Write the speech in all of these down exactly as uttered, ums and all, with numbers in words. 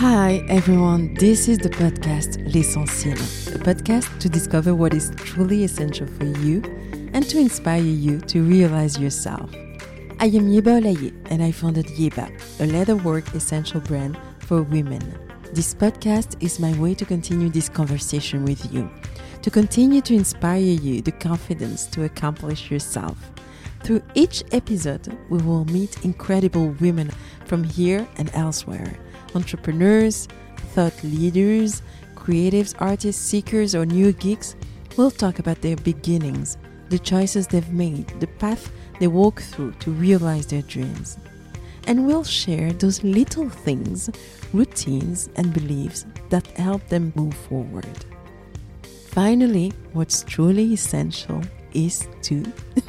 Hi everyone, this is the podcast L'Essentiel, a podcast to discover what is truly essential for you and to inspire you to realize yourself. I am Yeba Olaye and I founded Yeba, a leatherwork essential brand for women. This podcast is my way to continue this conversation with you, to continue to inspire you the confidence to accomplish yourself. Through each episode, we will meet incredible women from here and elsewhere. Entrepreneurs, thought leaders, creatives, artists, seekers, or new geeks will talk about their beginnings, the choices they've made, the path they walk through to realize their dreams. And we'll share those little things, routines, and beliefs that help them move forward. Finally, what's truly essential is to...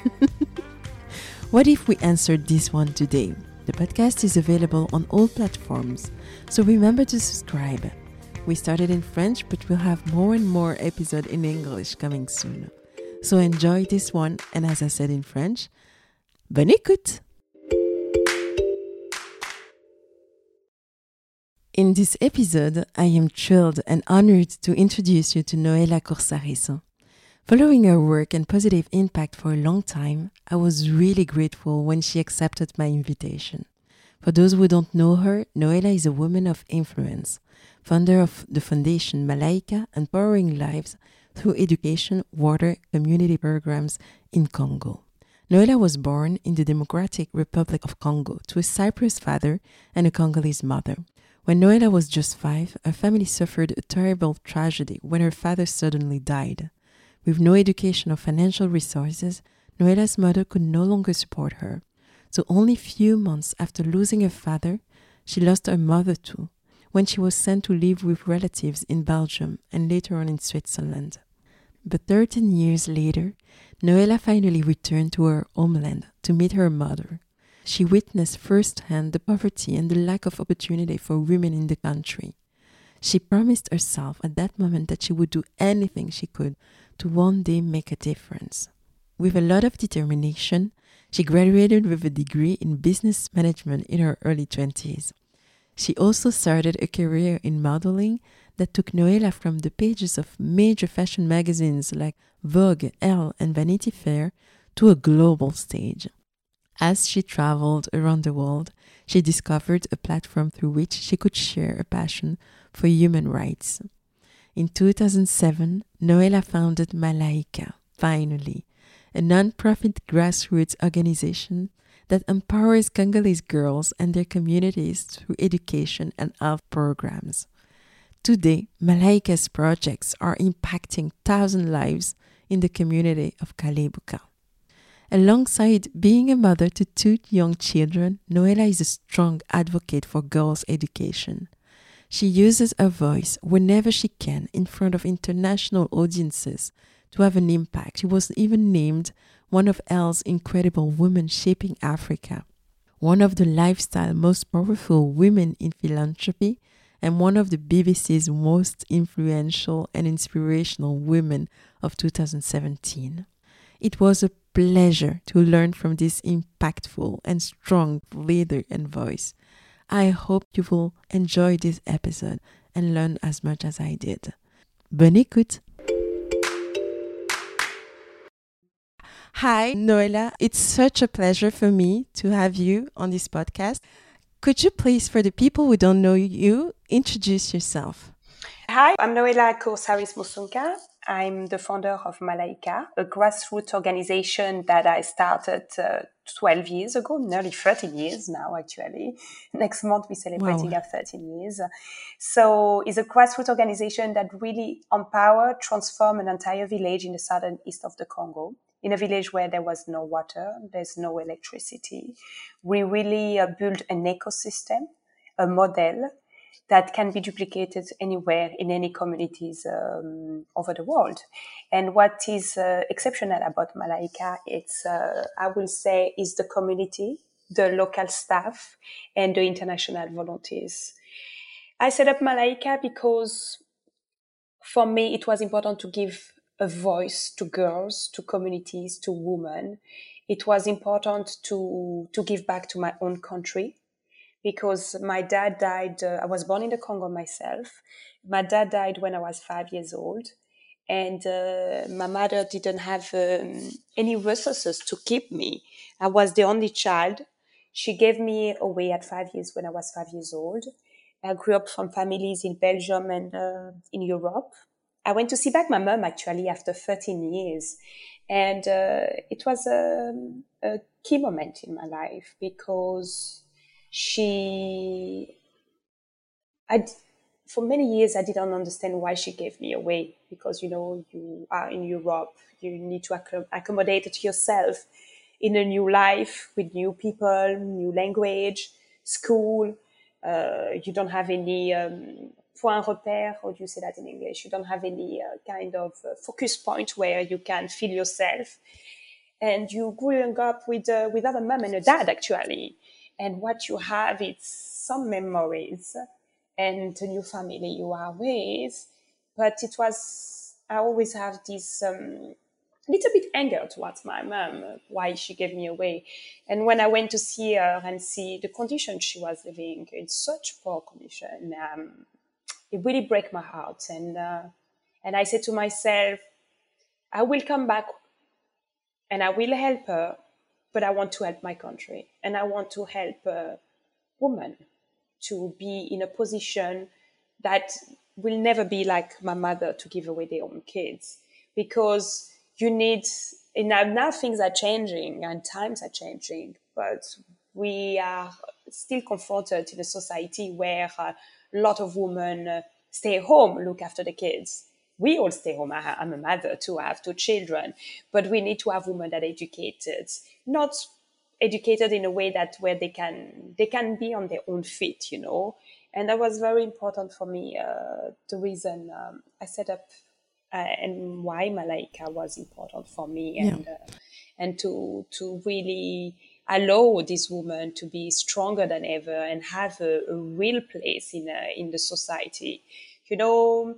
What if we answered this one today? The podcast is available on all platforms, so remember to subscribe. We started in French, but we'll have more and more episodes in English coming soon. So enjoy this one, and as I said in French, bonne écoute! In this episode, I am thrilled and honored to introduce you to Noela Corsariso. Following her work and positive impact for a long time, I was really grateful when she accepted my invitation. For those who don't know her, Noela is a woman of influence, founder of the foundation Malaika, empowering lives through education, water, community programs in Congo. Noela was born in the Democratic Republic of Congo to a Cyprus father and a Congolese mother. When Noela was just five, her family suffered a terrible tragedy when her father suddenly died. With no education or financial resources, Noela's mother could no longer support her. So only few months after losing her father, she lost her mother too, when she was sent to live with relatives in Belgium and later on in Switzerland. But thirteen years later, Noela finally returned to her homeland to meet her mother. She witnessed firsthand the poverty and the lack of opportunity for women in the country. She promised herself at that moment that she would do anything she could to one day make a difference. With a lot of determination, she graduated with a degree in business management in her early twenties. She also started a career in modeling that took Noela from the pages of major fashion magazines like Vogue, Elle, and Vanity Fair to a global stage. As she traveled around the world, she discovered a platform through which she could share a passion for human rights. In two thousand seven, Noela founded Malaika, finally, a non-profit grassroots organization that empowers Congolese girls and their communities through education and health programs. Today, Malaika's projects are impacting thousand lives in the community of Kalebuka. Alongside being a mother to two young children, Noela is a strong advocate for girls' education. She uses her voice whenever she can in front of international audiences to have an impact. She was even named one of Elle's incredible women shaping Africa, one of the lifestyle most powerful women in philanthropy, and one of the B B C's most influential and inspirational women of two thousand seventeen. It was a pleasure to learn from this impactful and strong leader and voice. I hope you will enjoy this episode and learn as much as I did. Bonne écoute! Hi, Noela. It's such a pleasure for me to have you on this podcast. Could you please, for the people who don't know you, introduce yourself? Hi, I'm Noela Corsariso. I'm the founder of Malaika, a grassroots organization that I started uh, twelve years ago, nearly thirteen years now, actually. Next month, we're celebrating Wow. our thirteen years. So it's a grassroots organization that really empower, transform an entire village in the southern east of the Congo, in a village where there was no water, there's no electricity. We really uh, built an ecosystem, a model that can be duplicated anywhere in any communities um, over the world. And what is uh, exceptional about Malaika, it's, uh, I will say, is the community, the local staff, and the international volunteers. I set up Malaika because for me, it was important to give a voice to girls, to communities, to women. It was important to, to give back to my own country, because my dad died. Uh, I was born in the Congo myself. My dad died when I was five years old. And uh, my mother didn't have um, any resources to keep me. I was the only child. She gave me away at five years when I was five years old. I grew up from families in Belgium and uh, in Europe. I went to see back my mom actually after thirteen years. And uh, it was a, a key moment in my life because she, I, for many years, I didn't understand why she gave me away because, you know, you are in Europe, you need to acc- accommodate it yourself in a new life with new people, new language, school. Uh, you don't have any um, point repère, how do you say that in English? You don't have any uh, kind of uh, focus point where you can feel yourself. And you growing up with, uh, with a mom and a dad, actually. And what you have is some memories and the new family you are with. But it was, I always have this um, little bit anger towards my mom, uh, why she gave me away. And when I went to see her and see the condition she was living in, such poor condition, um, it really broke my heart. And, uh, and I said to myself, I will come back and I will help her, but I want to help my country. And I want to help uh, women to be in a position that will never be like my mother to give away their own kids, because you need, and now, now things are changing and times are changing, but we are still confronted in a society where a lot of women uh, stay home, look after the kids. We all stay home. I, I'm a mother too. I have two children, but we need to have women that are educated, not educated in a way that where they can they can be on their own feet, you know. And that was very important for me. Uh, the reason um, I set up uh, and why Malaika was important for me, Yeah. and uh, and to to really allow this woman to be stronger than ever and have a, a real place in uh, in the society, you know.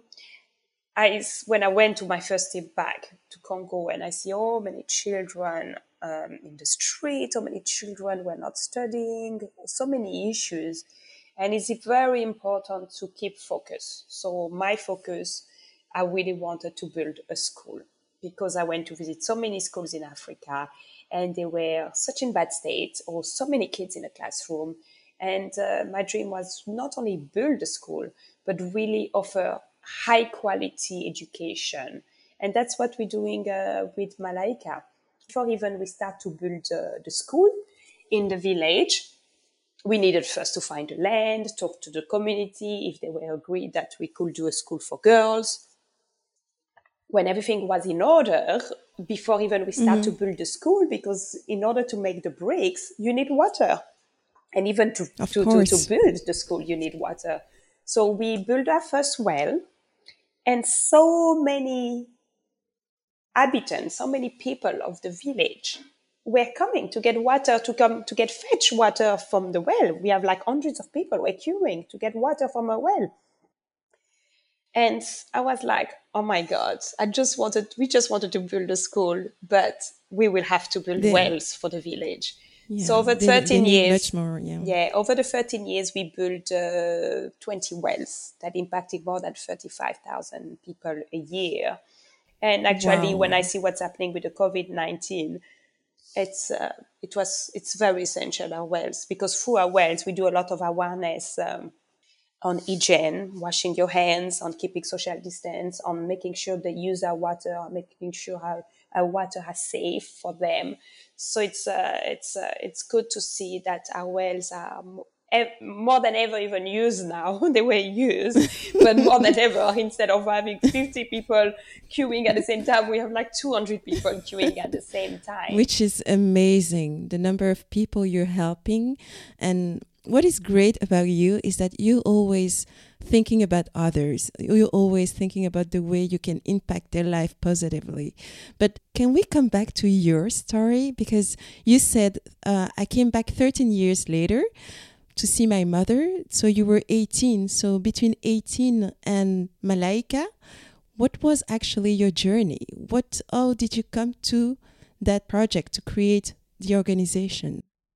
I, when I went to my first trip back to Congo and I see oh many children um, in the street, so many children were not studying, so many issues. And it's very important to keep focus. So my focus, I really wanted to build a school because I went to visit so many schools in Africa and they were such in bad state, or so many kids in a classroom. And uh, my dream was not only build a school, but really offer high quality education. And that's what we're doing uh, with Malaika. Before even we start to build uh, the school in the village, we needed first to find the land, talk to the community if they were agreed that we could do a school for girls. When everything was in order, before even we start Mm-hmm. to build the school, because in order to make the bricks, you need water. And even to, Of to, to, to course. build the school, you need water. So we built our first well, and so many inhabitants, so many people of the village were coming to get water, to come to get fetch water from the well. We have like hundreds of people were queuing to get water from a well. And I was like, oh my God, I just wanted, we just wanted to build a school, but we will have to build They, wells for the village. So yeah, over they, they thirteen need much years, more. Yeah. yeah, over the thirteen years, we built uh, twenty wells that impacted more than thirty-five thousand people a year. And actually, when I Wow. see what's happening with the COVID nineteen, it's uh, it was it's very essential, our wells, because through our wells we do a lot of awareness um, on hygiene, washing your hands, on keeping social distance, on making sure they use our water, on making sure our, our water is safe for them. So it's uh, it's uh, it's good to see that our wells are mo- ev- more than ever even used now. They were used, but more than ever, instead of having fifty people queuing at the same time, we have like two hundred people queuing at the same time. Which is amazing, the number of people you're helping. And what is great about you is that you always thinking about others. You're always thinking about the way you can impact their life positively. But can we come back to your story? Because you said, uh, I came back thirteen years later to see my mother. So you were eighteen. So between eighteen and Malaika, what was actually your journey? What, how did you come to that project to create the organization?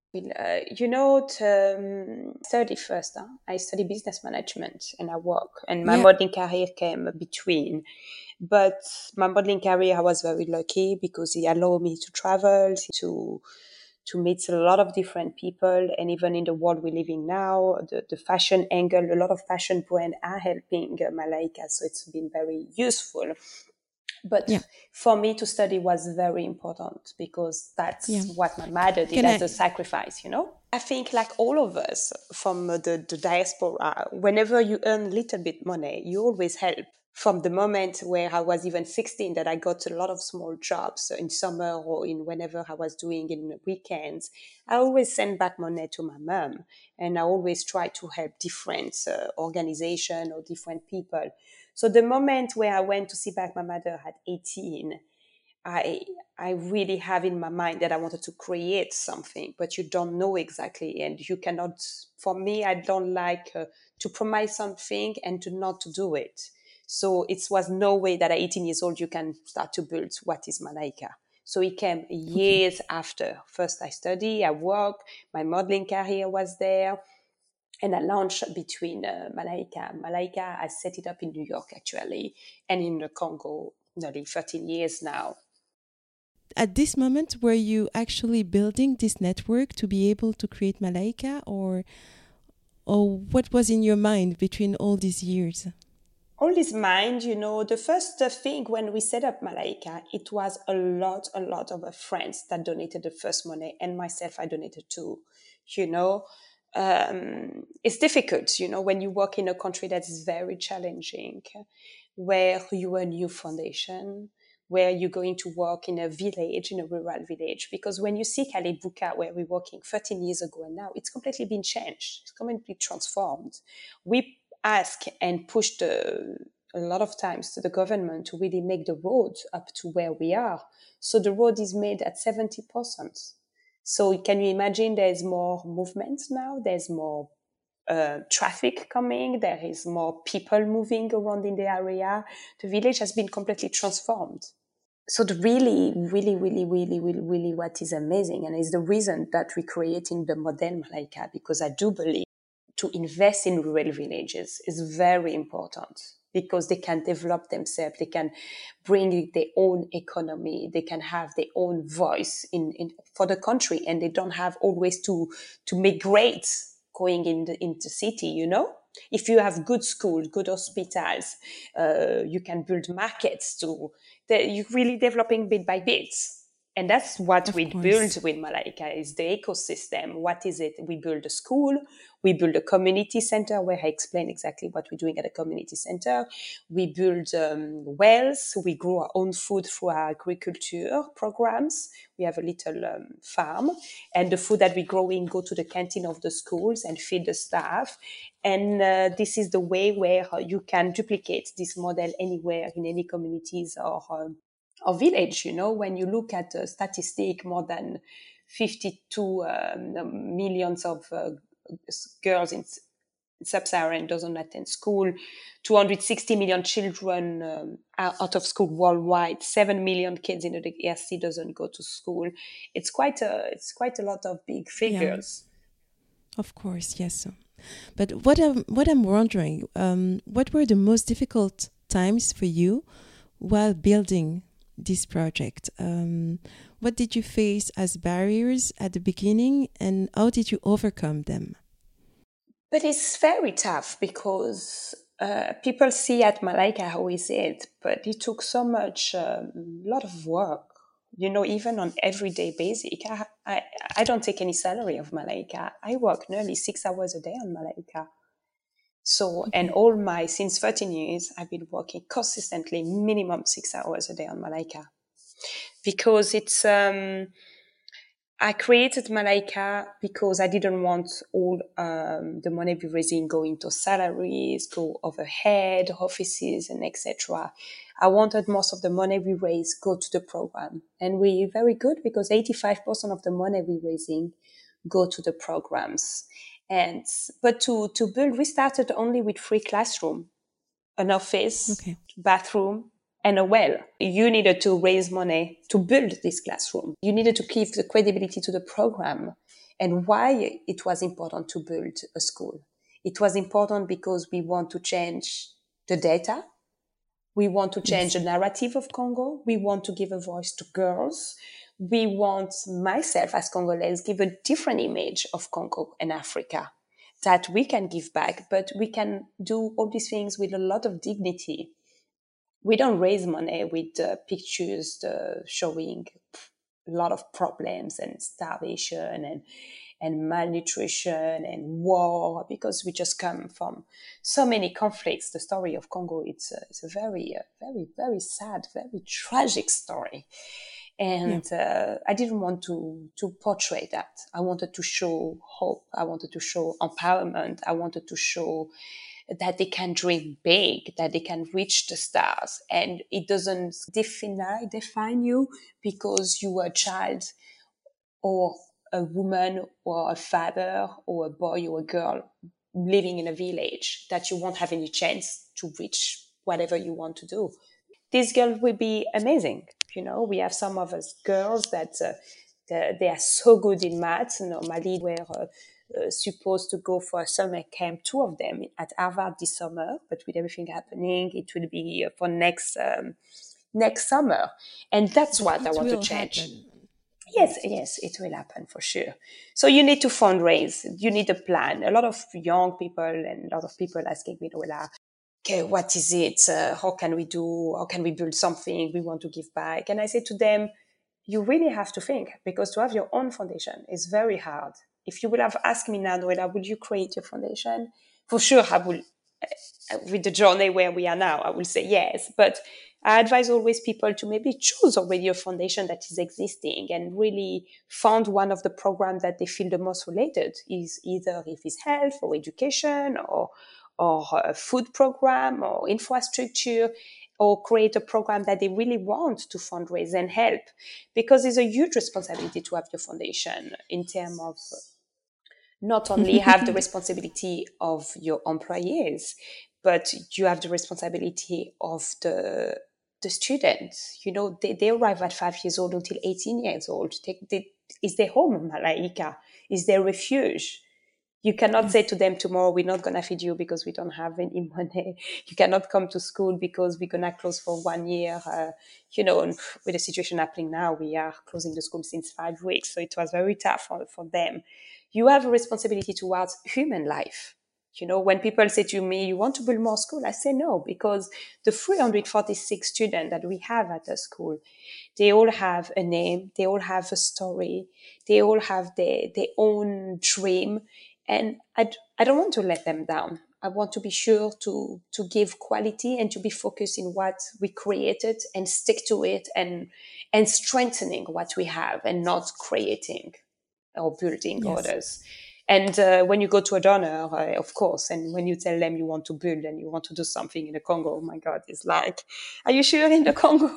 Well, uh, you know, t- um, study first. Huh? I study business management and I work, and my Yeah. modeling career came between. But my modeling career, I was very lucky because it allowed me to travel, to to meet a lot of different people, and even in the world we're living now, the, the fashion angle, a lot of fashion brands are helping uh, Malaika, so it's been very useful. But Yeah. for me to study was very important because Yeah. that's what my mother did Can as I? a sacrifice, you know? I think like all of us from the, the diaspora, whenever you earn a little bit money, you always help. From the moment where I was even sixteen, that I got a lot of small jobs in summer or in whenever I was doing in weekends, I always send back money to my mom, and I always try to help different uh, organization or different people. So the moment where I went to see back my mother at eighteen, I I really have in my mind that I wanted to create something, but you don't know exactly, and you cannot. For me, I don't like uh, to promise something and to not to do it. So it was no way that at eighteen years old you can start to build what is Malaika. So it came Okay. years after. First, I study, I work, my modeling career was there, and I launched between uh, Malaika. Malaika, I set it up in New York actually, and in the Congo, nearly thirteen years now. At this moment, were you actually building this network to be able to create Malaika, or or what was in your mind between all these years? All this mind, you know, the first uh, thing when we set up Malaika, it was a lot, a lot of uh, friends that donated the first money, and myself, I donated too. You know, um, it's difficult, you know, when you work in a country that is very challenging, where you are a new foundation, where you're going to work in a village, in a rural village. Because when you see Kalebuka, where we're working thirteen years ago and now, it's completely been changed. It's completely transformed. We ask and push the, a lot of times to the government to really make the road up to where we are. So the road is made at seventy percent. So can you imagine there's more movement now? There's more uh, traffic coming. There is more people moving around in the area. The village has been completely transformed. So the really, really, really, really, really, really what is amazing, and is the reason that we're creating the model Malaika, because I do believe to invest in rural villages is very important because they can develop themselves, they can bring their own economy, they can have their own voice in, in for the country, and they don't have always to to migrate going in the, into city, you know. If you have good schools, good hospitals, uh, you can build markets too. You're really developing bit by bit. And that's what Of we build course. with Malaika is the ecosystem. What is it? We build a school, we build a community center where I explain exactly what we're doing at a community center. We build um, wells. We grow our own food through our agriculture programs. We have a little um, farm, and the food that we're growing go to the canteen of the schools and feed the staff. And uh, this is the way where uh, you can duplicate this model anywhere in any communities or um, or village. You know, when you look at a statistic, more than fifty-two um, millions of uh, girls in sub-Saharan doesn't attend school, two hundred sixty million children um, are out of school worldwide, seven million kids in the D R C doesn't go to school. It's quite a it's quite a lot of big Yeah, figures. of course, yes. But what I'm what I'm wondering, um, what were the most difficult times for you while building this project? Um, what did you face as barriers at the beginning, and how did you overcome them? But it's very tough because uh, people see at Malaika how is it, but it took so much, a um, lot of work. You know, even on everyday basic, I, I I don't take any salary of Malaika. I work nearly six hours a day on Malaika. So, and Okay. all my since thirteen years, I've been working consistently, minimum six hours a day on Malaika because it's um I created Malaika because I didn't want all um, the money we're raising going to salaries, go overhead, offices, and et cetera. I wanted most of the money we raise go to the program, and we're very good because eighty-five percent of the money we're raising go to the programs. And but to to build, we started only with free classroom, an office, Okay. bathroom. and a well. You needed to raise money to build this classroom. You needed to give the credibility to the program. And why it was important to build a school. It was important because we want to change the data. We want to change Yes. the narrative of Congo. We want to give a voice to girls. We want myself as Congolese give a different image of Congo and Africa that we can give back, but we can do all these things with a lot of dignity. We don't raise money with uh, pictures uh, showing a lot of problems and starvation and and malnutrition and war, because we just come from so many conflicts. The story of Congo, it's a, it's a very, uh, very, very sad, very tragic story. Yeah. And uh, I didn't want to, to portray that. I wanted to show hope. I wanted to show empowerment. I wanted to show that they can dream big, that they can reach the stars. And it doesn't define, define you because you were a child or a woman or a father or a boy or a girl living in a village, that you won't have any chance to reach whatever you want to do. These girls will be amazing. You know, we have some of us girls that uh, they, they are so good in maths. Normally, we're uh, uh, supposed to go for a summer camp, two of them at Harvard this summer, but with everything happening, it will be for next um, next summer. And that's But what I it want to will change. happen. Yes, Yes. yes, it will happen for sure. So you need to fundraise. You need a plan. A lot of young people and a lot of people asking me, Noella, okay, what is it? Uh, how can we do? How can we build something? We want to give back. And I say to them, you really have to think, because to have your own foundation is very hard. If you would have asked me now, Noella, would you create your foundation? For sure, I will. With the journey where we are now, I will say yes. But I advise always people to maybe choose already a foundation that is existing and really found one of the programs that they feel the most related, is either if it's health or education or or a food program or infrastructure, or create a program that they really want to fundraise and help, because it's a huge responsibility to have your foundation in terms of not only have the responsibility of your employees, but you have the responsibility of the the students. You know, they, they arrive at five years old until eighteen years old. They, they, is their home, Malaika? Is their refuge? You cannot say Yes. to them tomorrow, we're not going to feed you because we don't have any money. You cannot come to school because we're going to close for one year. Uh, you know, and with the situation happening now, we are closing the school since five weeks. So it was very tough for, for them. You have a responsibility towards human life. You know, when people say to me, you want to build more school? I say no, because the three hundred forty-six students that we have at the school, they all have a name, they all have a story, they all have their, their own dream. And I, I don't want to let them down. I want to be sure to, to give quality and to be focused in what we created and stick to it, and, and strengthening what we have and not creating or building Yes. others. And uh, when you go to a donor, uh, of course, and when you tell them you want to build and you want to do something in the Congo, oh my God, it's like, are you sure in the Congo?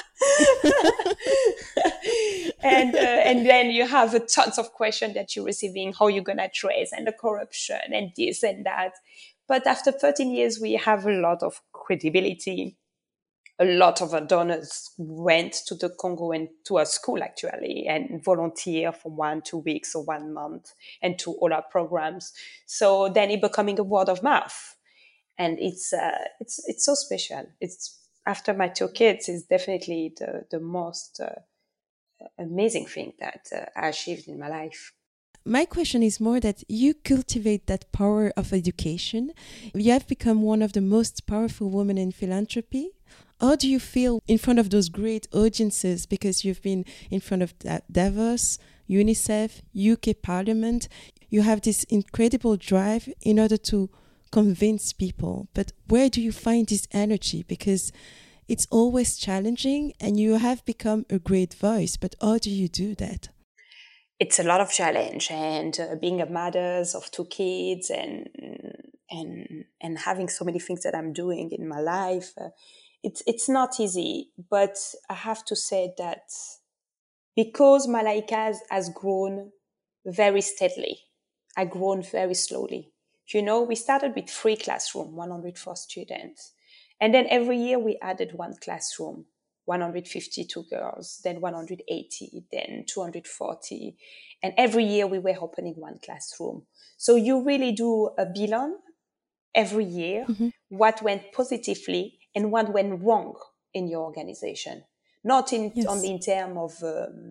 and uh, and then you have a tons of questions that you're receiving, how you're gonna trace, and the corruption and this and that. But after thirteen years, we have a lot of credibility. A lot of our donors went to the Congo and to our school actually, and volunteer for one, two weeks or one month, and to all our programs. So then it becoming a word of mouth, and it's uh, it's it's so special. It's after my two kids, is definitely the the most uh, amazing thing that uh, I achieved in my life. My question is more that you cultivate that power of education. You have become one of the most powerful women in philanthropy. How do you feel in front of those great audiences? Because you've been in front of Davos, UNICEF, U K Parliament. You have this incredible drive in order to convince people. But where do you find this energy? Because it's always challenging and you have become a great voice. But how do you do that? It's a lot of challenge, and uh, being a mother of two kids, and and and having so many things that I'm doing in my life, uh, it's it's not easy. But I have to say that because Malaika has, has grown very steadily, I grown very slowly. You know, we started with three classroom, one hundred four students, And then every year we added one classroom, one hundred fifty-two girls, then one hundred eighty, then two hundred forty. And every year we were opening one classroom. So you really do a bilan every year, Mhm. what went positively and what went wrong in your organization. Not in only Yes. in terms of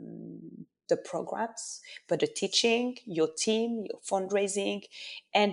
um, the programs, but the teaching, your team, your fundraising, and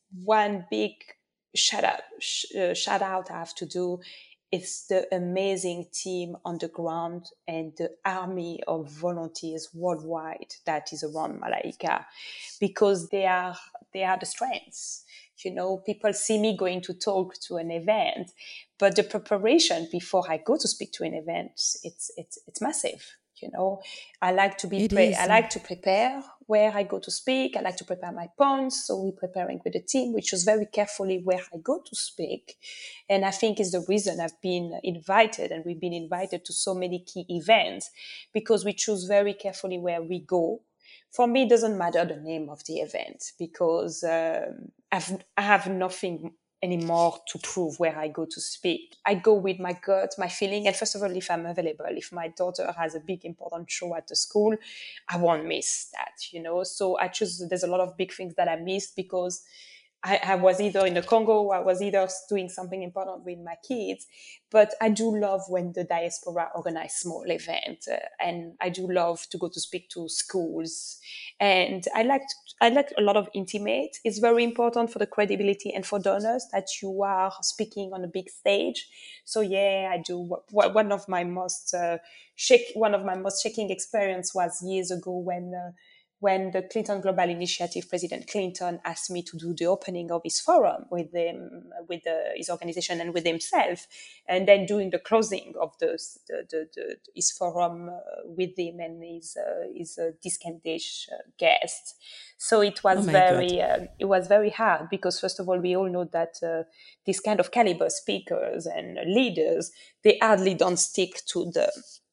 one big shout out, sh- uh, shout out I have to do. It's the amazing team on the ground and the army of volunteers worldwide that is around Malaika, because they are they are the strengths. You know, people see me going to talk to an event, but the preparation before I go to speak to an event, it's it's it's massive. You know, I like to be It pre- I is. like to prepare where I go to speak. I like to prepare my points. So we're preparing with the team. We choose very carefully where I go to speak, and I think is the reason I've been invited, and we've been invited to so many key events, because we choose very carefully where we go. For me, it doesn't matter the name of the event, because um, I've, I have nothing anymore to prove where I go to speak. I go with my gut, my feeling, and first of all, if I'm available, if my daughter has a big important show at the school, I won't miss that, you know. So I choose. There's a lot of big things that I missed because I, I was either in the Congo, I was either doing something important with my kids. But I do love when the diaspora organize small events, uh, and I do love to go to speak to schools. And I like I like a lot of intimate. It's very important for the credibility and for donors that you are speaking on a big stage. So yeah, I do. One of my most uh, shake one of my most shaking experience was years ago when. Uh, when the Clinton Global Initiative, President Clinton asked me to do the opening of his forum with them, with the, his organization and with himself, and then doing the closing of the, the, the, the his forum uh, with him and his uh, his uh, distinguished uh, guest. So it Oh was my God. very uh, it was very hard, because first of all we all know that uh, this kind of caliber speakers and leaders, they hardly don't stick to the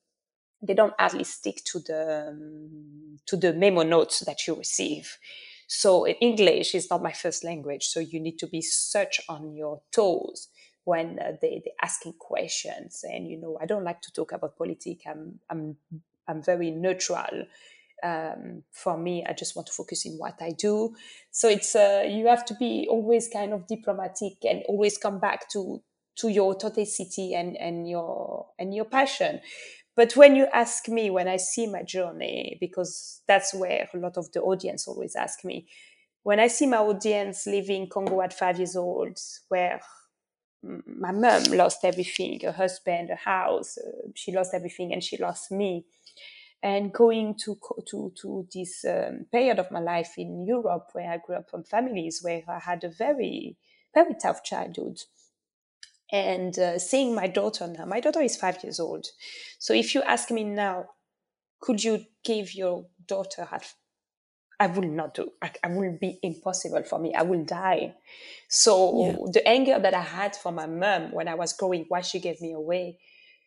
they don't hardly stick to the um, to the memo notes that you receive. So English is not my first language, so you need to be such on your toes when uh, they they asking questions. And you know, I don't like to talk about politics. I'm I'm I'm very neutral. Um, for me, I just want to focus in what I do. So it's uh, you have to be always kind of diplomatic and always come back to to your authenticity and and your and your passion. But when you ask me, when I see my journey, because that's where a lot of the audience always ask me, when I see my audience leaving Congo at five years old, where my mom lost everything, her husband, a house, uh, she lost everything, and she lost me. And going to to to this um, period of my life in Europe, where I grew up from families where I had a very very tough childhood, and uh, seeing my daughter now, my daughter is five years old. So if you ask me now, could you give your daughter at I will not do. I, I will be impossible for me. I will die. Yeah. So the anger that I had for my mom when I was growing, why she gave me away,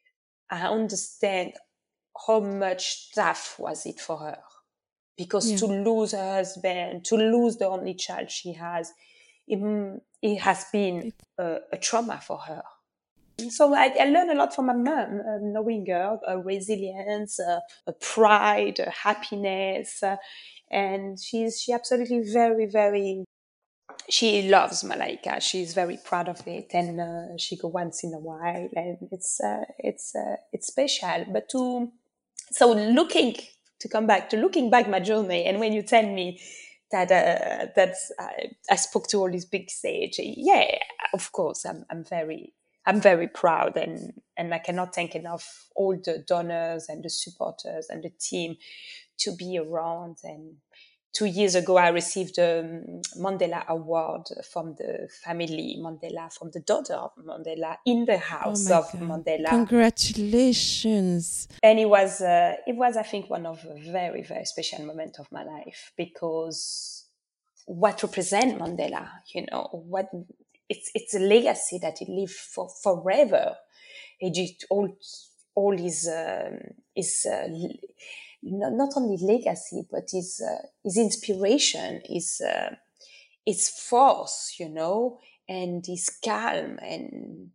I understand how much tough was it for her. Because Yeah. to lose her husband, to lose the only child she has, it, it has been It, a, a trauma for her. So I, I learned a lot from my mom, uh, knowing her, a resilience, uh, a pride, a happiness, uh, and she's she absolutely very very. She loves Malaika. She's very proud of it, and uh, she go once in a while, and it's uh, it's uh, it's special. But to so looking to come back to looking back my journey, and when you tell me that uh, that I, I spoke to all these big stage, yeah, of course, I'm I'm very I'm very proud, and and I cannot thank enough all the donors and the supporters and the team to be around. And two years ago, I received a Mandela Award from the family Mandela, from the daughter of Mandela, in the oh house my of God. Mandela. Congratulations. And it was uh, it was I think one of a very very special moment of my life, because what represent Mandela, you know, what it's it's a legacy that he lived for forever. He did all all his um, his uh, not, not only legacy, but his uh, his inspiration, his uh, his force, you know, and his calm, and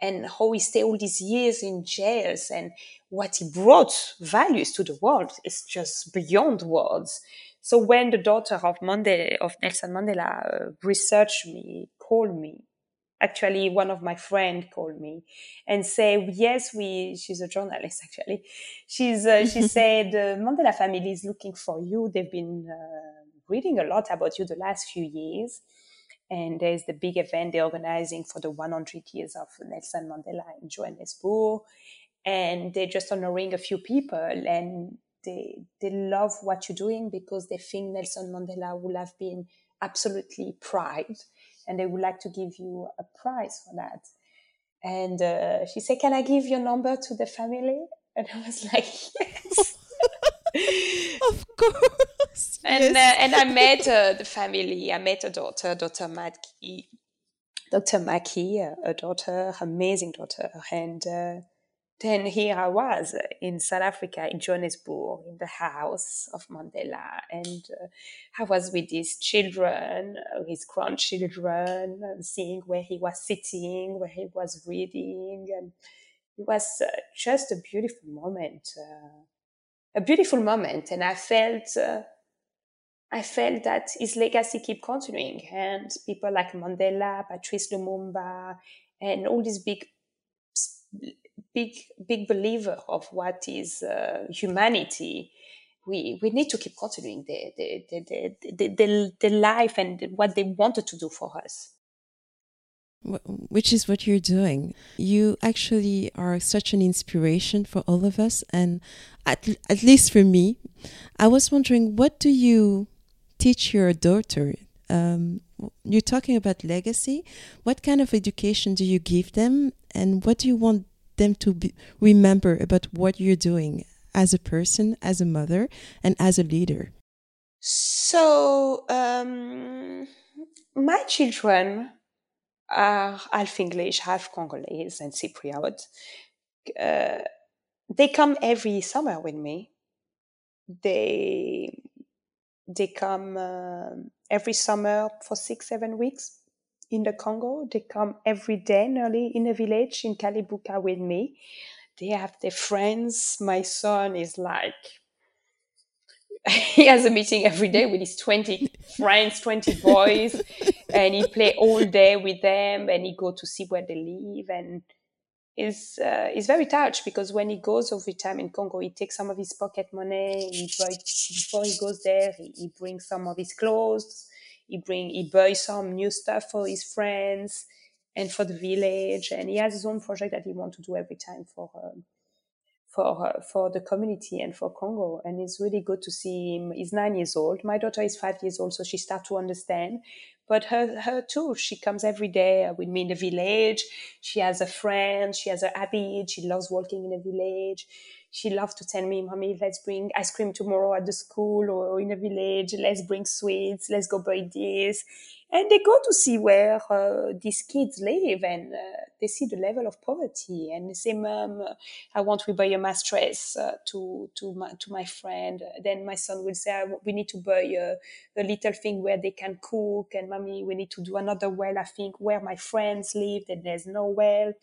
and how he stayed all these years in jails and what he brought values to the world is just beyond words. So when the daughter of Mandela, of Nelson Mandela, uh, researched me, called me, actually one of my friend called me and say, yes, we, she's a journalist actually. She's, uh, she said, the Mandela family is looking for you. They've been uh, reading a lot about you the last few years. And there's the big event they're organizing for the one hundred years of Nelson Mandela in Johannesburg. And they're just honoring a few people, and they they love what you're doing because they think Nelson Mandela would have been absolutely proud, and they would like to give you a prize for that. And uh, she said, can I give your number to the family? And I was like, yes. Of course. And Yes. uh, and I met uh, the family. I met a daughter, Doctor Mackey, Doctor Mackey, a, a daughter, amazing daughter. And uh, then here I was in South Africa, in Johannesburg, in the house of Mandela. And uh, I was with his children, uh, his grandchildren, and seeing where he was sitting, where he was reading. And it was uh, just a beautiful moment, uh, a beautiful moment. And I felt... Uh, I felt that his legacy keep continuing, and people like Mandela, Patrice Lumumba, and all these big, big, big believer of what is uh, humanity. We we need to keep continuing the the, the, the, the, the, the life and what they wanted to do for us. Which is what you're doing. You actually are such an inspiration for all of us, and at, at least for me. I was wondering, what do you teach your daughter? Um, you're talking about legacy. What kind of education do you give them, and what do you want them to be, remember about what you're doing as a person, as a mother, and as a leader? So, um, my children are half English, half Congolese, and Cypriot. Uh, they come every summer with me. They they come uh, every summer for six, seven weeks in the Congo. They come every day nearly in a village in Kalibuka with me. They have their friends. My son is like, he has a meeting every day with his twenty friends, twenty boys, and he play all day with them, and he go to see where they live, and is uh, is very touched because when he goes every time in Congo, he takes some of his pocket money. He buy, before he goes there, he, he brings some of his clothes. He bring he buys some new stuff for his friends and for the village. And he has his own project that he wants to do every time for um, for uh, for the community and for Congo. And it's really good to see him. He's nine years old. My daughter is five years old, so she starts to understand. But her, her too, she comes every day with me in the village. She has a friend. She has a habit. She loves walking in the village. She loves to tell me, Mommy, let's bring ice cream tomorrow at the school or in the village. Let's bring sweets. Let's go buy this. And they go to see where uh, these kids live, and uh, they see the level of poverty. And they say, Mom, I want to buy a mattress uh, to to my to my friend. Then my son will say, we need to buy a, a little thing where they can cook. And Mommy, we need to do another well, I think, where my friends live, and there's no well.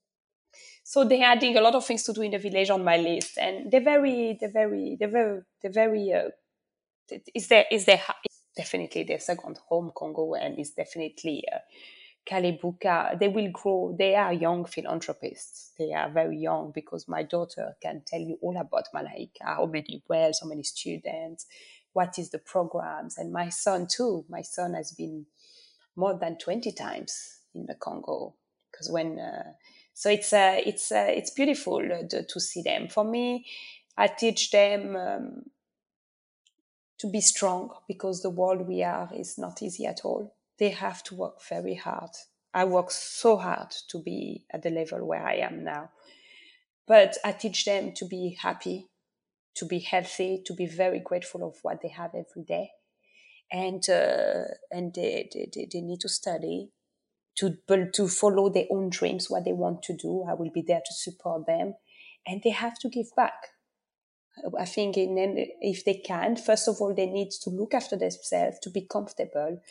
So they're adding a lot of things to do in the village on my list, and they're very, they're very, they're very, they're very. Uh, is there is there definitely their second home, Congo, and it's definitely uh, Kalibuka. They will grow. They are young philanthropists. They are very young because my daughter can tell you all about Malaika, how many wells, how many students, what is the programs, and my son too. My son has been more than twenty times in the Congo because when. Uh, so it's uh, it's uh, it's beautiful uh, to, to see them. For me, I teach them. Um, to be strong because the world we are is not easy at all. They have to work very hard. I work so hard to be at the level where I am now. But I teach them to be happy, to be healthy, to be very grateful of what they have every day. And uh, and they, they, they need to study, to, to follow their own dreams, what they want to do. I will be there to support them. And they have to give back. I think in, if they can, first of all, they need to look after themselves, to be comfortable.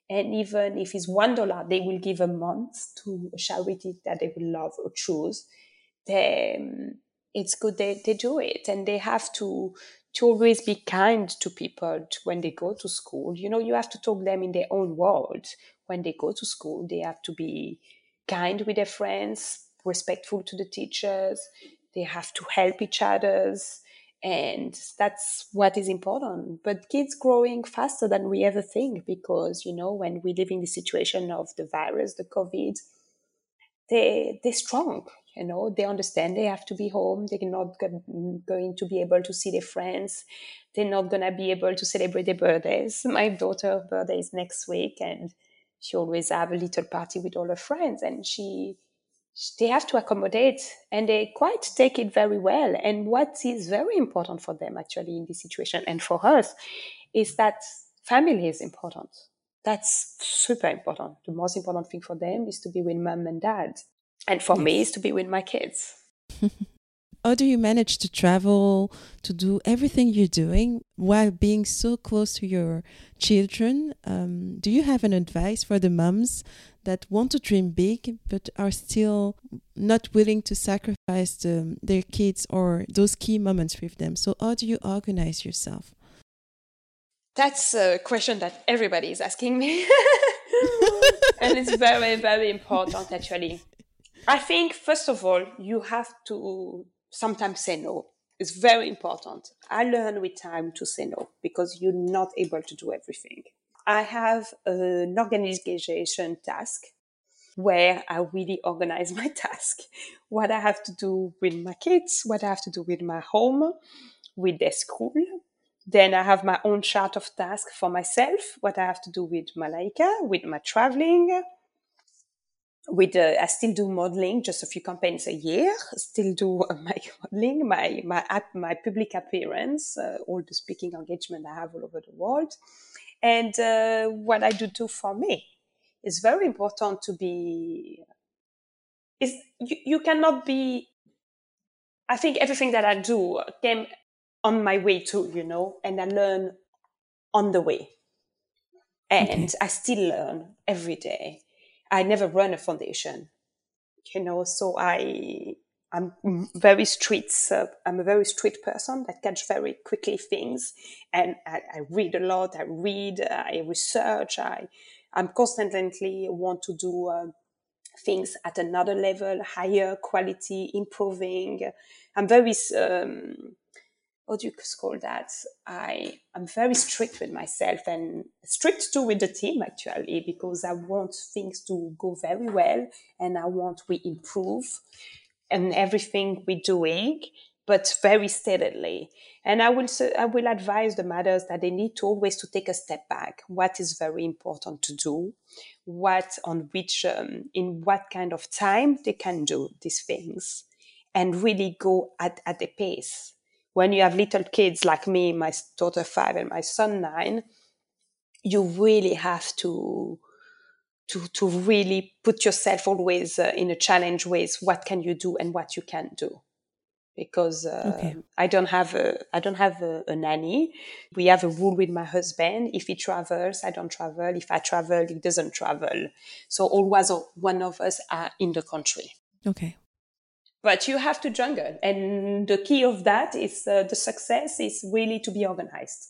And even if it's one dollar, they will give a month to a charity that they will love or choose. They, um, it's good they, they do it, and they have to to always be kind to people when they go to school. You know, you have to talk them in their own world. When they go to school, they have to be kind with their friends, respectful to the teachers. They have to help each others. And that's what is important. But kids growing faster than we ever think, because, you know, when we live in the situation of the virus, the COVID, they they're strong. You know, they understand they have to be home. They're not go- going to be able to see their friends. They're not gonna be able to celebrate their birthdays. My daughter's birthday is next week, and she always have a little party with all her friends, and she they have to accommodate, and they quite take it very well. And what is very important for them actually in this situation, and for us, is that family is important. That's super important. The most important thing for them is to be with mom and dad, and for me is Yes. to be with my kids. How do you manage to travel, to do everything you're doing while being so close to your children? Um, do you have an advice for the moms that want to dream big but are still not willing to sacrifice the, their kids or those key moments with them? So, how do you organize yourself? That's a question that everybody is asking me. And it's very, very important actually. I think, first of all, you have to sometimes say no. It's very important. I learn with time to say no, because you're not able to do everything. I have an organization task where I really organize my task, what I have to do with my kids, what I have to do with my home, with their school. Then I have my own chart of tasks for myself, what I have to do with Malaika, with my traveling, with uh, I still do modeling, just a few campaigns a year. Still do uh, my modeling, my my app, my public appearance, uh, all the speaking engagement I have all over the world, and uh, what I do too for me. It's very important to be. Is you, you cannot be. I think everything that I do came on my way too, you know, and I learn on the way, and Okay. I still learn every day. I never run a foundation, you know, so I I'm very street uh, I'm a very street person that catch very quickly things, and I, I read a lot. I read, I research. I I'm constantly want to do uh, things at another level, higher quality, improving. I'm very um, what do you call that? I am very strict with myself, and strict too with the team actually, because I want things to go very well, and I want we improve and everything we're doing, but very steadily. And I will I will advise the matters that they need to always to take a step back. What is very important to do, what on which um, in what kind of time they can do these things, and really go at at a pace. When you have little kids like me, my daughter five and my son nine, you really have to to to really put yourself always uh, in a challenge with what can you do and what you can't do, because uh, Okay. I don't have a I don't have a, a nanny. We have a rule with my husband: if he travels, I don't travel. If I travel, he doesn't travel. So always one of us are in the country. Okay. But you have to jungle, and the key of that is uh, the success is really to be organized.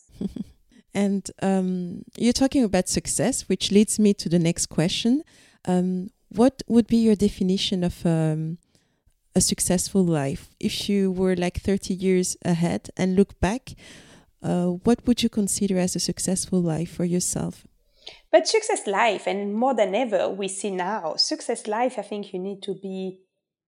And um, you're talking about success, which leads me to the next question. Um, what would be your definition of um, a successful life? If you were like thirty years ahead and look back, uh, what would you consider as a successful life for yourself? But success life, and more than ever, we see now, success life, I think you need to be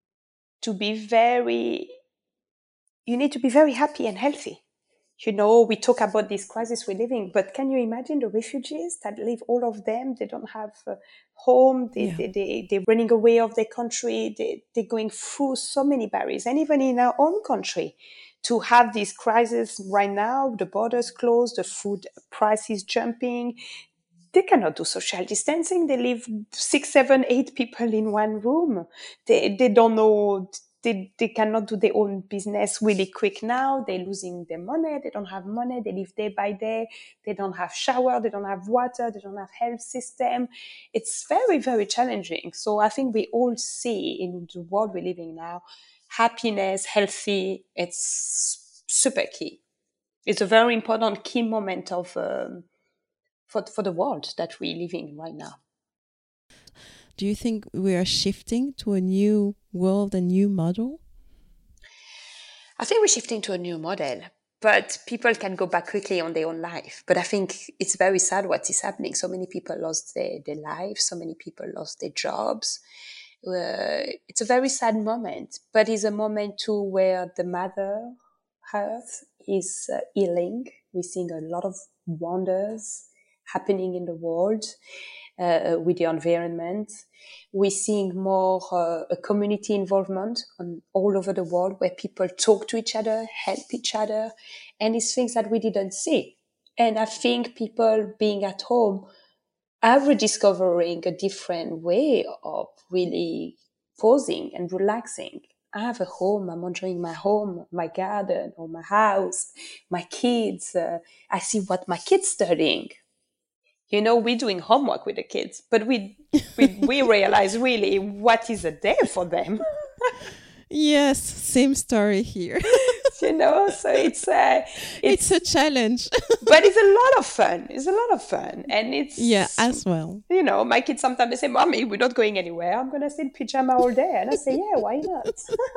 to be very you need to be very happy and healthy. You know, we talk about this crisis we're living, but can you imagine the refugees that live, all of them, they don't have a home, they, Yeah. they, they, they're running away of their country, they, they're going through so many barriers. And even in our own country, to have this crisis right now, the borders closed, the food prices jumping, they cannot do social distancing. They live six, seven, eight people in one room. They, they don't know, they, they cannot do their own business really quick now. They're losing their money. They don't have money. They live day by day. They don't have shower. They don't have water. They don't have health system. It's very, very challenging. So I think we all see in the world we're living now, happiness, healthy, it's super key. It's a very important key moment of um, for, for the world that we're living right now. Do you think we are shifting to a new world, a new model? I think we're shifting to a new model, but people can go back quickly on their own life. But I think it's very sad what is happening. So many people lost their, their lives. So many people lost their jobs. Uh, it's a very sad moment, but it's a moment too where the Mother Earth is uh, healing. We're seeing a lot of wonders happening in the world uh, with the environment. We're seeing more uh, a community involvement on all over the world where people talk to each other, help each other, and it's things that we didn't see. And I think people being at home are rediscovering a different way of really pausing and relaxing. I have a home. I'm enjoying my home, my garden, or my house, my kids. Uh, I see what my kids studying. You know, we're doing homework with the kids, but we we, we realize really what is a day for them. Yes, same story here. You know, so it's uh, it's, it's a challenge, but it's a lot of fun. It's a lot of fun, and it's yeah, as well. You know, my kids sometimes they say, "Mommy, we're not going anywhere. I'm gonna sit in pajama all day," and I say, "Yeah, why not?"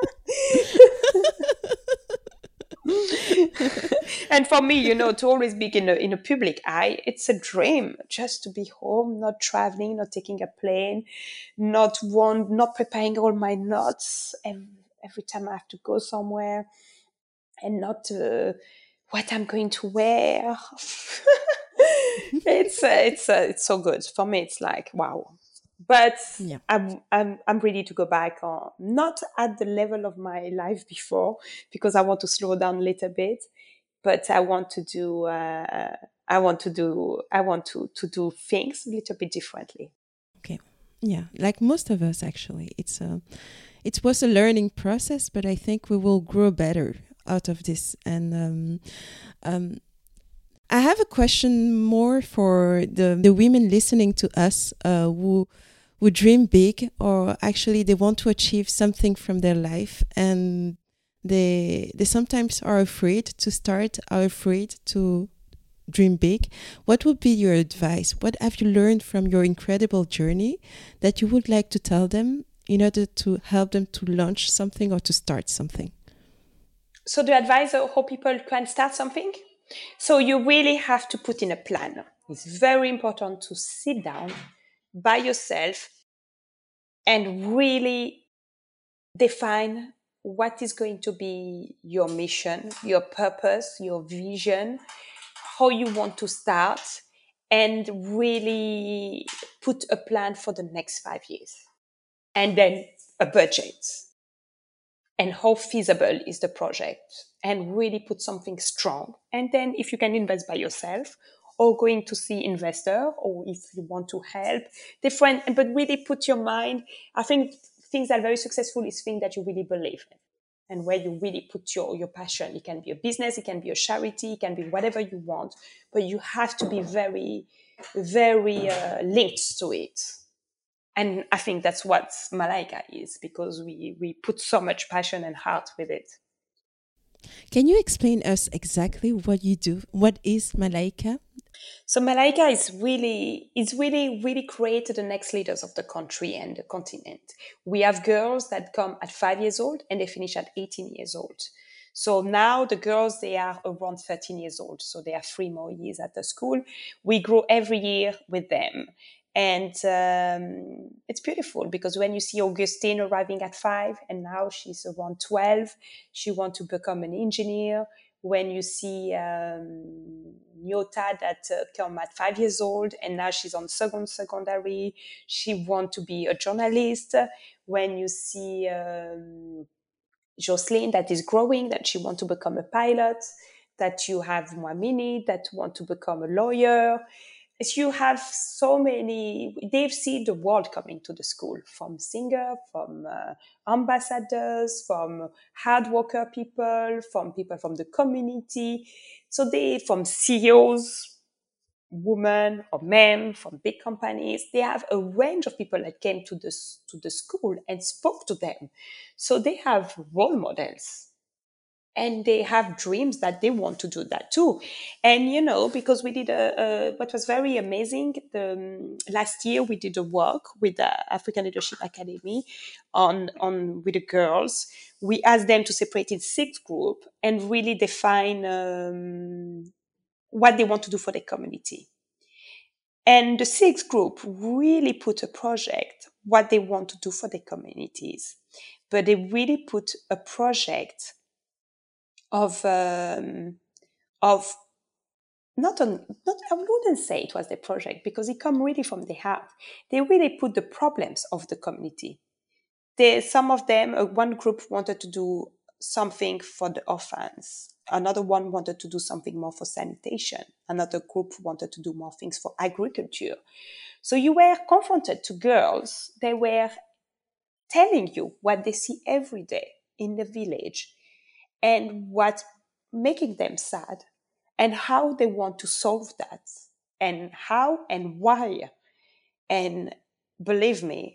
And for me, you know, to always be in a, in a public eye, it's a dream just to be home, not traveling, not taking a plane, not one, not preparing all my notes every, every time I have to go somewhere, and not uh, what I'm going to wear. it's uh, it's uh, it's so good for me. It's like wow. But yeah. I'm I'm I'm ready to go back on, not at the level of my life before, because I want to slow down a little bit. But I want to do uh, I want to do I want to to do things a little bit differently. Okay, yeah, like most of us actually, it's a it was a learning process, but I think we will grow better out of this. And um, um, I have a question more for the the women listening to us uh, who. who dream big, or actually they want to achieve something from their life, and they they sometimes are afraid to start, are afraid to dream big. What would be your advice? What have you learned from your incredible journey that you would like to tell them in order to help them to launch something or to start something? So the advice of how people can start something? So you really have to put in a plan. It's very important to sit down by yourself and really define what is going to be your mission, your purpose, your vision, how you want to start, and really put a plan for the next five years. And then a budget. And how feasible is the project? And really put something strong. And then if you can invest by yourself, or going to see investor, or if you want to help different, but really put your mind. I think things that are very successful is things that you really believe in, and where you really put your, your passion. It can be a business, it can be a charity, it can be whatever you want, but you have to be very, very uh, linked to it. And I think that's what Malaika is, because we, we put so much passion and heart with it. Can you explain us exactly what you do? What is Malaika? So Malaika is really, is really, really created the next leaders of the country and the continent. We have girls that come at five years old and they finish at eighteen years old. So now the girls, they are around thirteen years old. So they have three more years at the school. We grow every year with them. And um, it's beautiful, because when you see Augustine arriving at five and now she's around twelve, she wants to become an engineer. When you see um, Nyota that uh, come at five years old and now she's on second secondary, she wants to be a journalist. When you see um, Jocelyn that is growing, that she wants to become a pilot, that you have Mwamini that want to become a lawyer. is you have so many, they've seen the world coming to the school, from singer, from uh, ambassadors, from hard worker people, from people from the community. So they, from C E Os, women or men from big companies, they have a range of people that came to the, to the school and spoke to them. So they have role models and they have dreams that they want to do that too. And you know, because we did a, a what was very amazing, the um, last year we did a work with the African Leadership Academy on on with the girls. We asked them to separate in six groups and really define um, what they want to do for their community. And the sixth group really put a project, what they want to do for their communities. But they really put a project of um, of not on not I wouldn't say it was the project because it come really from the heart. They really put the problems of the community. They, some of them, uh, one group wanted to do something for the orphans. Another one wanted to do something more for sanitation. Another group wanted to do more things for agriculture. So you were confronted to girls. They were telling you what they see every day in the village and what's making them sad and how they want to solve that and how and why. And believe me,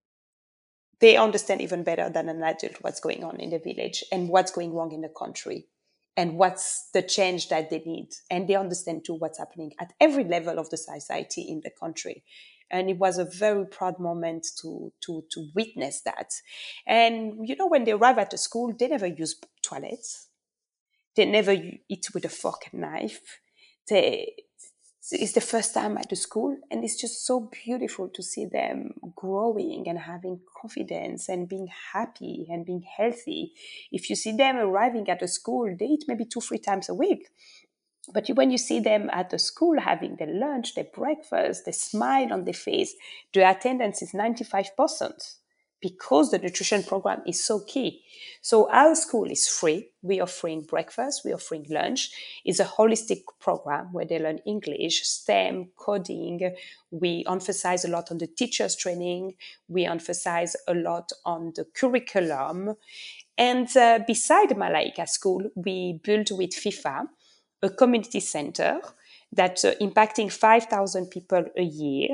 they understand even better than an adult what's going on in the village and what's going wrong in the country and what's the change that they need. And they understand too what's happening at every level of the society in the country. And it was a very proud moment to, to, to witness that. And, you know, when they arrive at the school, they never use toilets. They never eat with a fork and knife. They, it's the first time at the school, and it's just so beautiful to see them growing and having confidence and being happy and being healthy. If you see them arriving at the school, they eat maybe two, three times a week. But when you see them at the school having their lunch, their breakfast, the smile on their face, the attendance is ninety-five percent. Because the nutrition program is so key. So our school is free. We're offering breakfast, we're offering lunch. It's a holistic program where they learn English, STEM, coding. We emphasize a lot on the teachers training. We emphasize a lot on the curriculum. And uh, beside Malaika School, we built with FIFA a community center that's uh, impacting five thousand people a year.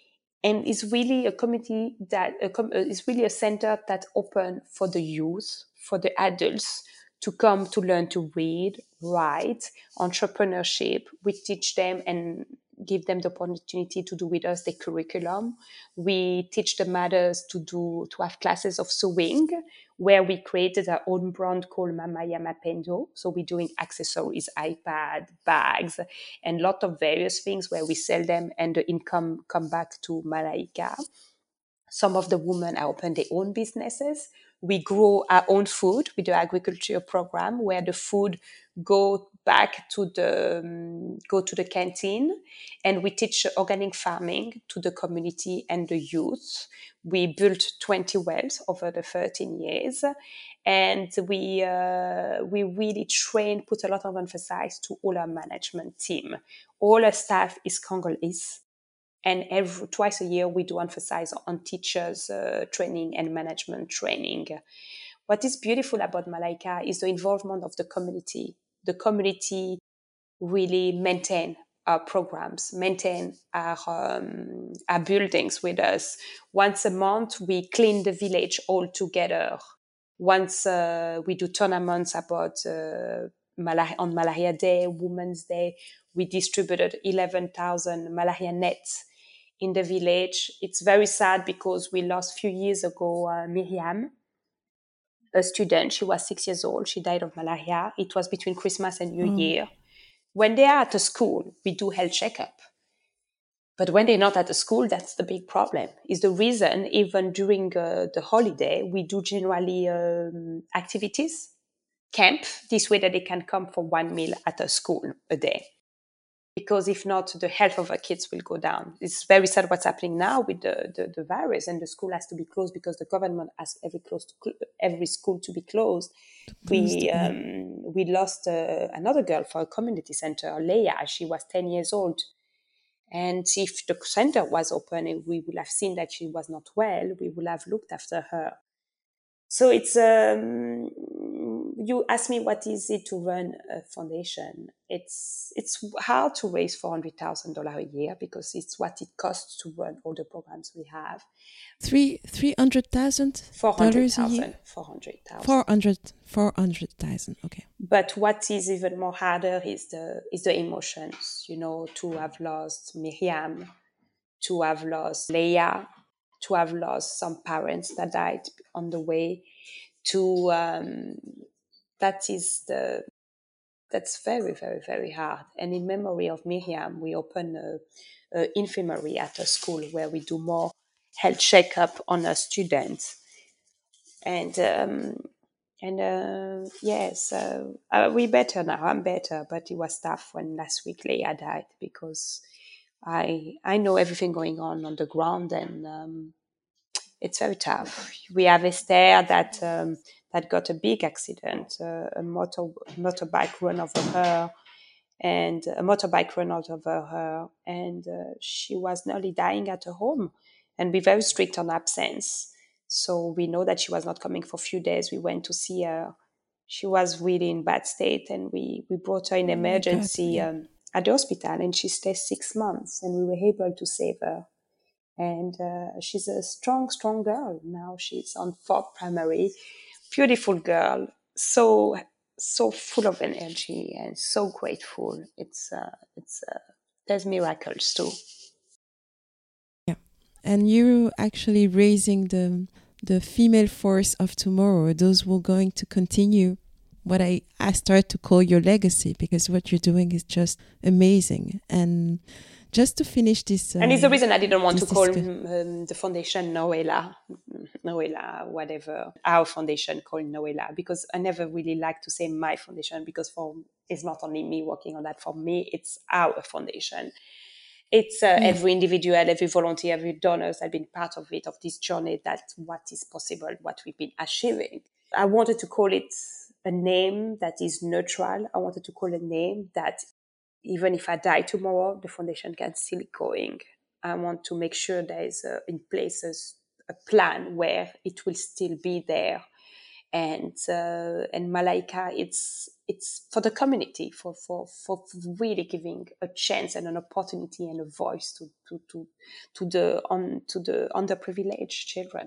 And it's really a community that uh, com- uh, is really a center that's open for the youth, for the adults to come to learn to read, write, entrepreneurship. We teach them and give them the opportunity to do with us the curriculum. We teach the mothers to do to have classes of sewing, where we created our own brand called Mamaya Mapendo. So we're doing accessories, iPad, bags, and a lot of various things where we sell them and the income come back to Malaika. Some of the women are open their own businesses. We grow our own food with the agriculture program, where the food go back to the um, go to the canteen, and we teach organic farming to the community and the youth. We built twenty wells over the thirteen years, and we uh, we really train, put a lot of emphasis to all our management team. All our staff is Congolese. And every twice a year, we do emphasize on teachers uh, training and management training. What is beautiful about Malaika is the involvement of the community. The community really maintain our programs, maintain our, um, our buildings with us. Once a month, we clean the village all together. Once uh, we do tournaments about uh, malaria, on Malaria Day, Women's Day, we distributed eleven thousand malaria nets in the village. It's very sad because we lost a few years ago uh, Miriam, a student. She was six years old. She died of malaria. It was between Christmas and New Oh, Year. When they are at a school, we do health checkup. But when they're not at the school, that's the big problem. Is the reason even during uh, the holiday, we do generally um, activities, camp, this way that they can come for one meal at a school a day. Because if not, the health of our kids will go down. It's very sad what's happening now with the, the, the virus, and the school has to be closed because the government asks every close to cl- every school to be closed. closed. We Yeah. um, we lost uh, another girl for a community center, Leia. She was ten years old, And if the center was open and we would have seen that she was not well, we would have looked after her. So it's, um, you ask me what is it to run a foundation. It's, it's hard to raise four hundred thousand dollars a year because it's what it costs to run all the programs we have. Three, three hundred thousand dollars a year? four hundred thousand. Four hundred, four hundred thousand, okay. But what is even more harder is the, is the emotions, you know, to have lost Miriam, to have lost Leia, to have lost some parents that died on the way, to um, that is the that's very very very hard. And in memory of Miriam, we open a, a infirmary at a school where we do more health checkup on our students, and um, and uh, yes, uh, uh, we better now. I'm better, but it was tough when last week Leia died because I I know everything going on on the ground, and um, it's very tough. We have Esther that um, that got a big accident, uh, a motor motorbike run over her, and a motorbike run out over her, and uh, she was nearly dying at her home. And we're very strict on absence, so we know that she was not coming for a few days. We went to see her. She was really in bad state, and we we brought her in emergency oh um, at the hospital, and she stayed six months, and we were able to save her. And uh, she's a strong, strong girl. Now she's on fourth primary. Beautiful girl. So, so full of energy and so grateful. It's, uh, it's, uh, there's miracles too. Yeah. And you're actually raising the, the female force of tomorrow, those who are going to continue what I, I start to call your legacy, because what you're doing is just amazing. And just to finish this... Um, and it's the reason I didn't want to call um, the foundation Noella, Noella, whatever, our foundation called Noella, because I never really like to say my foundation, because for it's not only me working on that. For me, it's our foundation. It's uh, yeah. every individual, every volunteer, every donor has been part of it, of this journey, that's what is possible, what we've been achieving. I wanted to call it a name that is neutral. I wanted to call a name that even if I die tomorrow, the foundation can still be going. I want to make sure there is a, in place a, a plan where it will still be there. And uh, and Malaika, it's it's for the community, for, for, for really giving a chance and an opportunity and a voice to to to, to the on to the underprivileged children.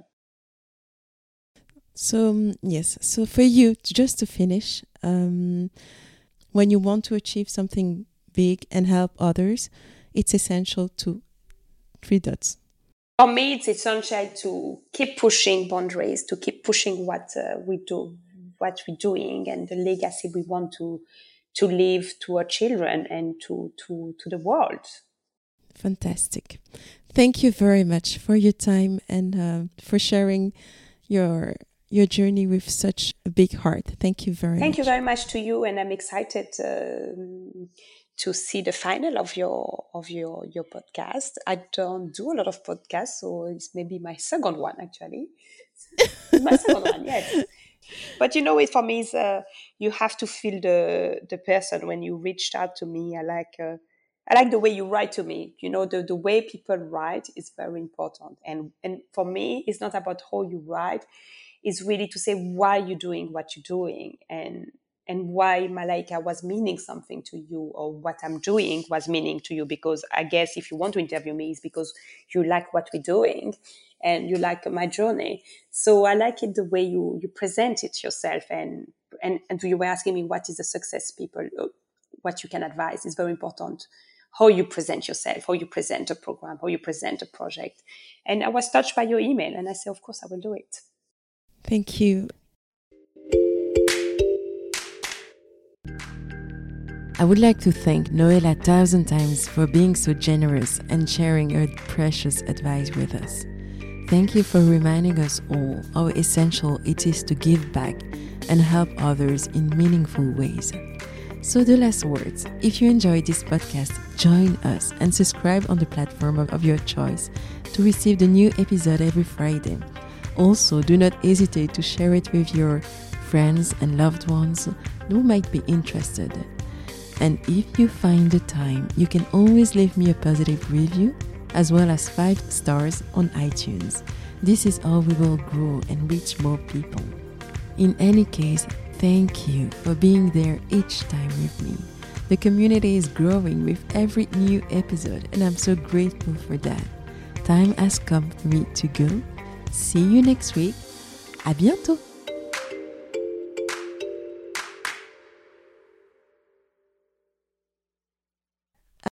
So um, yes, so for you, just to finish, um, when you want to achieve something big and help others, it's essential to three dots. For me, it's essential to keep pushing boundaries, to keep pushing what uh, we do, what we're doing, and the legacy we want to to leave to our children and to to to the world. Fantastic! Thank you very much for your time and uh, for sharing your your journey with such a big heart. Thank you very Thank much. you very much to you, and I'm excited uh, to see the final of your of your your podcast. I don't do a lot of podcasts, so it's maybe my second one actually. my second one, yes. But you know, it for me is uh, you have to feel the the person when you reached out to me. I like uh, I like the way you write to me. You know, the the way people write is very important, and and for me, it's not about how you write. It's really to say why you're doing what you're doing, and and why Malaika was meaning something to you, or what I'm doing was meaning to you. Because I guess if you want to interview me, it's because you like what we're doing and you like my journey. So I like it the way you, you present it yourself. And, and, and you were asking me what is the success people, what you can advise is very important. How you present yourself, how you present a program, how you present a project. And I was touched by your email, and I said, of course, I will do it. Thank you. I would like to thank Noella a thousand times for being so generous and sharing her precious advice with us. Thank you for reminding us all how essential it is to give back and help others in meaningful ways. So the last words, if you enjoyed this podcast, join us and subscribe on the platform of your choice to receive the new episode every Friday. Also, do not hesitate to share it with your friends and loved ones who might be interested. And if you find the time, you can always leave me a positive review as well as five stars on iTunes. This is how we will grow and reach more people. In any case, thank you for being there each time with me. The community is growing with every new episode, and I'm so grateful for that. Time has come for me to go. See you next week. À bientôt!